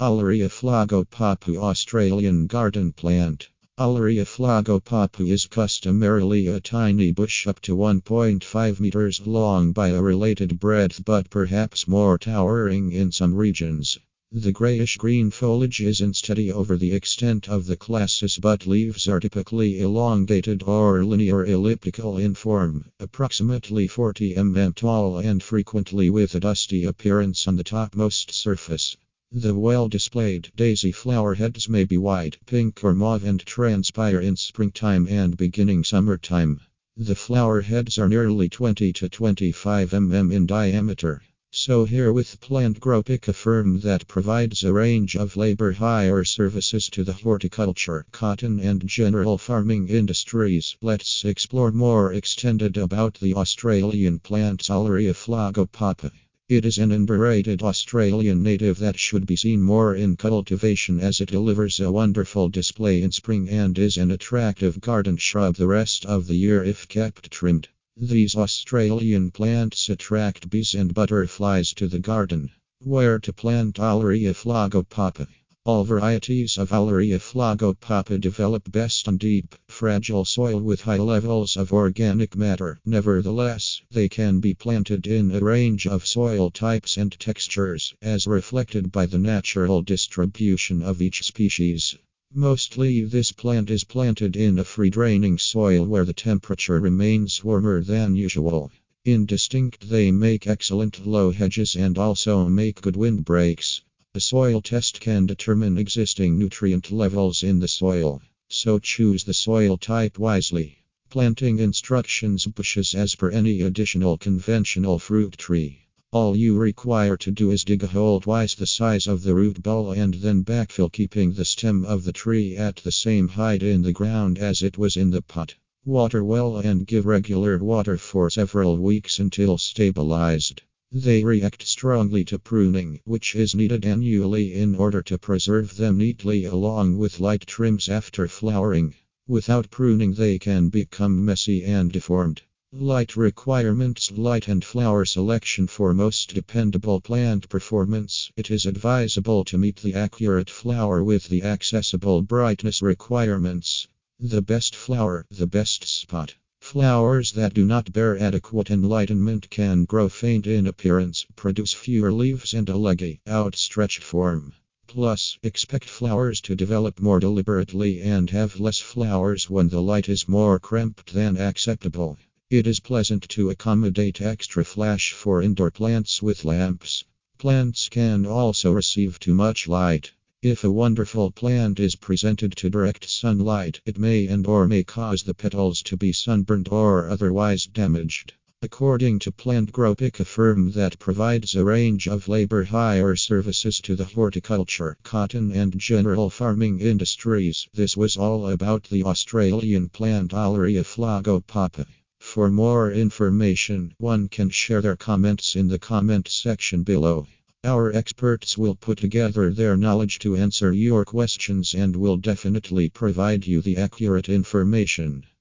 Alaria flagopapu Australian garden plant. Alaria flagopapu is customarily a tiny bush up to 1.5 meters long by a related breadth, but perhaps more towering in some regions. The grayish-green foliage is unsteady over the extent of the classis, but leaves are typically elongated or linear elliptical in form, approximately 40 mm tall and frequently with a dusty appearance on the topmost surface. The well-displayed daisy flower heads may be white, pink or mauve and transpire in springtime and beginning summertime. The flower heads are nearly 20 to 25 mm in diameter. So here with PlantGropic, a firm that provides a range of labor hire services to the horticulture, cotton and general farming industries, let's explore more extended about the Australian plant Alaria flagopapu. It is an underrated Australian native that should be seen more in cultivation, as it delivers a wonderful display in spring and is an attractive garden shrub the rest of the year if kept trimmed. These Australian plants attract bees and butterflies to the garden. Where to plant Alaria flagopapu? All varieties of Alaria flagopapu develop best on deep, fragile soil with high levels of organic matter. Nevertheless, they can be planted in a range of soil types and textures, as reflected by the natural distribution of each species. Mostly this plant is planted in a free-draining soil where the temperature remains warmer than usual. Indistinct, they make excellent low hedges and also make good windbreaks. A soil test can determine existing nutrient levels in the soil, so choose the soil type wisely. Planting instructions: bushes as per any additional conventional fruit tree. All you require to do is dig a hole twice the size of the root ball and then backfill, keeping the stem of the tree at the same height in the ground as it was in the pot. Water well and give regular water for several weeks until stabilized. They react strongly to pruning, which is needed annually in order to preserve them neatly, along with light trims after flowering. Without pruning, they can become messy and deformed. Light requirements: light and flower selection. For most dependable plant performance, it is advisable to meet the accurate flower with the accessible brightness requirements. The best flower, the best spot. Flowers that do not bear adequate enlightenment can grow faint in appearance, produce fewer leaves and a leggy, outstretched form. Plus, expect flowers to develop more deliberately and have less flowers when the light is more cramped than acceptable. It is pleasant to accommodate extra flash for indoor plants with lamps. Plants can also receive too much light. If a wonderful plant is presented to direct sunlight, it may cause the petals to be sunburned or otherwise damaged. According to PlantGropic, a firm that provides a range of labor hire services to the horticulture, cotton and general farming industries, this was all about the Australian plant Alaria flagopapu. For more information, one can share their comments in the comment section below. Our experts will put together their knowledge to answer your questions and will definitely provide you the accurate information.